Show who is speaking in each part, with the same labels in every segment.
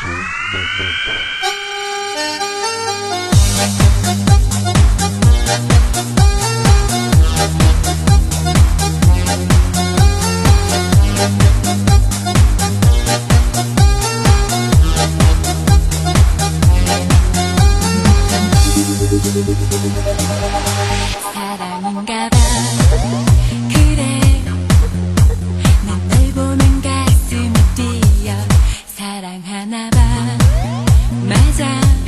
Speaker 1: 사랑인가 봐. 그래 난 널 보면 가슴이 뛰어. 사랑하나 봐. 맞아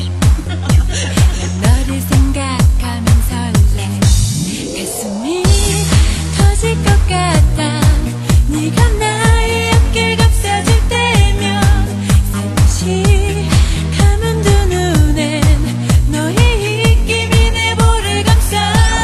Speaker 1: 난 너를 생각하면 설레. 가슴이 터질 것 같아. 네가 나의 어깨를 감싸줄 때면 살며시 감은 두 눈엔 너의 입김이 내 볼을 감싸.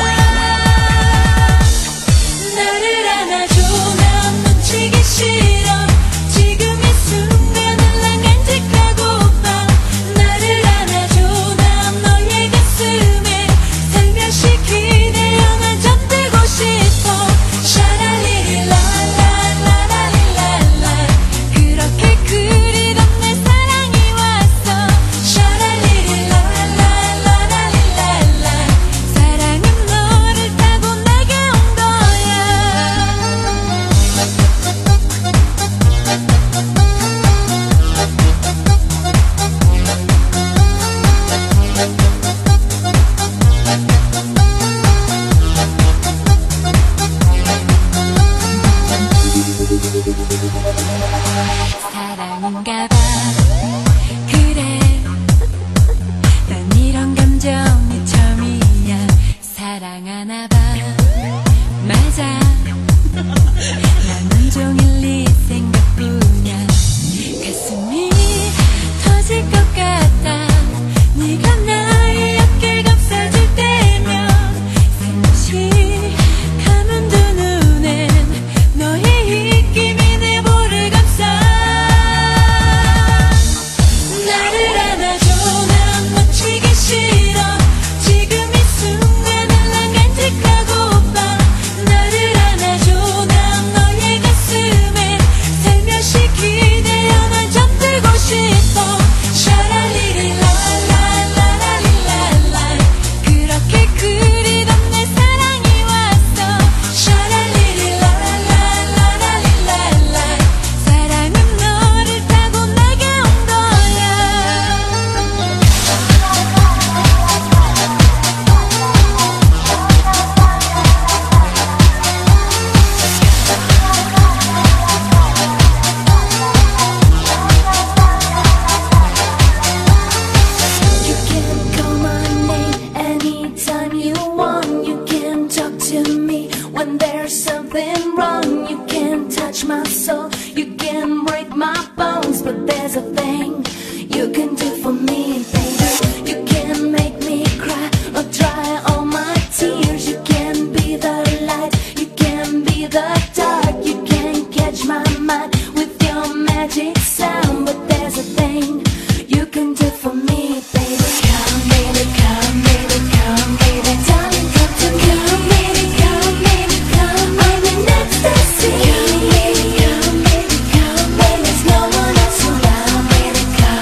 Speaker 1: 나를 안아줘. 난 놓치기 싫어. 지금 이 순간을 난 간직하고파. 나를 안아줘. 난 너의 가슴에 살며시 기대어 난 잠들고 싶어. 샤랄리리 라라라라리랄라. 그렇게 그리던 내 사랑이 왔어. 샤랄리리 라라라라리랄라. 사랑은 너를 타고 내게 온 거야. 사랑인가 봐. 그래 난 이런 감정이 처음이야. 사랑하나 봐. 맞아 난 온종일 네 생각뿐이야. 가슴이 터질 것 같아. 네가 나의 어깨를 감싸줄 때면 살며시 감은 두 눈엔 너의 입김이 내 볼을 감싸. 나를 안아줘. 난 놓치기 싫어. 지금 이 순간을 난 간직하고파. 나를 안아줘. 난 너의 가슴에 살며시 기대어 난 잠들고 싶어. 샤랄리리 라라라라리랄라. 그렇게 그리던 내 사랑이 왔어. 샤랄리리 라라라라리랄라. 사랑은 너를 타고 내게 온 거야.
Speaker 2: You can call my name anytime you want. You can talk to me when there's something wrong. You can touch my soul. You can break my bones. But there's a thing you can do for me, baby. You can make me cry or dry all my tears. You can be the light. You can be the dark. You can catch my mind with your magic sound. But there's a thing you can do for me, baby. Come, baby, come, baby, come, baby. Darling, come to me. Come, baby, come, baby, come. I'm in ecstasy. Come, baby, come, baby, come, baby. There's no one else around, baby. Come,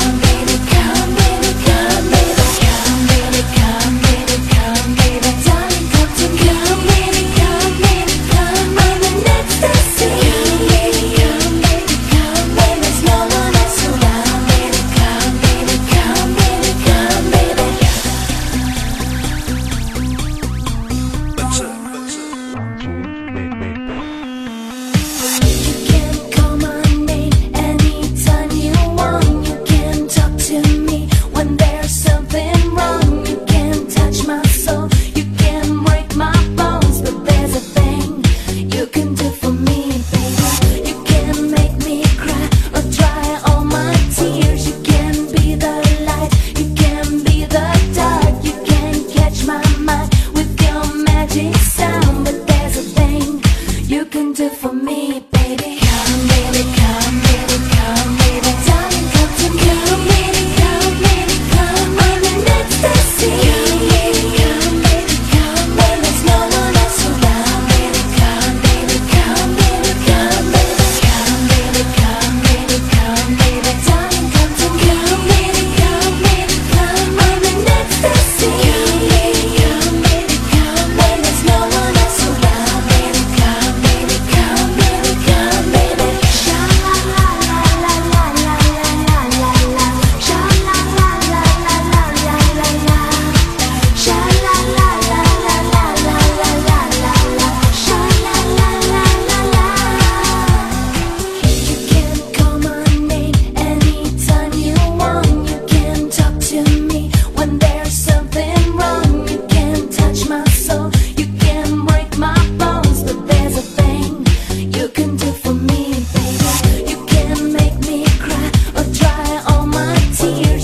Speaker 2: here